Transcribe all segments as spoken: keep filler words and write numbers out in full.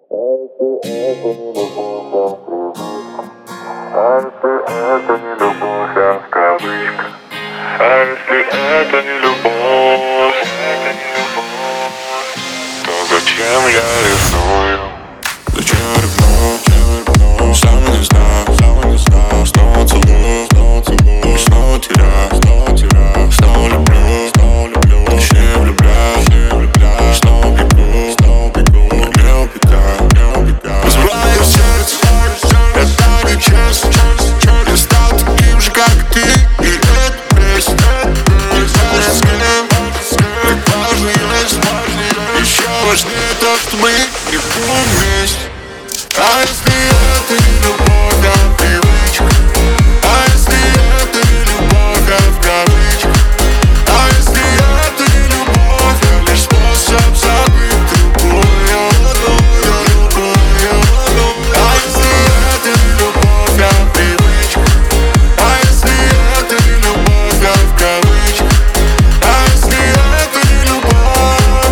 А если это не любовь, а в кавычках? А если это не любовь, это не любовь, то зачем я ревную? Зачем я ревную? Сам не знаю, сам не знаю. Снова целую, снова целую, снова теряю, снова теряю, снова люблю, снова люблю, точнее влюбляюсь, точнее влюбляюсь, снова бегу, снова бегу, не убегаю, не убегаю. Разбиваю сердце, это нечестно. Я стал таким же, как ты, и это бесит. Не знаешь, с кем, как важно есть. Еще важнее то, что мы не будем вместе. А если это не любовь, а привычка? А если это не любовь, а в кавычках? А если это не любовь, а лишь способ забыть другую, другую, другую? А если это не любовь, а привычка? А если это не любовь, а в кавычках? А если это не любовь,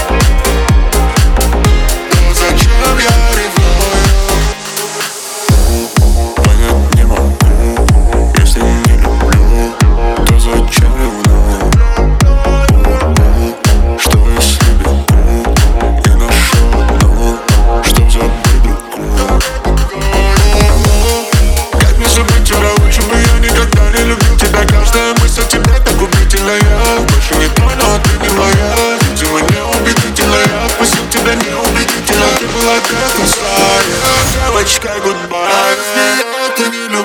то зачем я ревную? Понять не могу, если не люблю, то зачем ревную? Что если бегу и нашел одну, чтоб забыть другую? Как мне забыть тебя, лучше бы я никогда не любил тебя. Каждая мысль о тебе так убедительная. Больше не твой, но ты не моя. Видимо, неубедительная. Отпустил тебя неубедительно. Ты была как Исайя. Девочка, goodbye. А если это не любовь?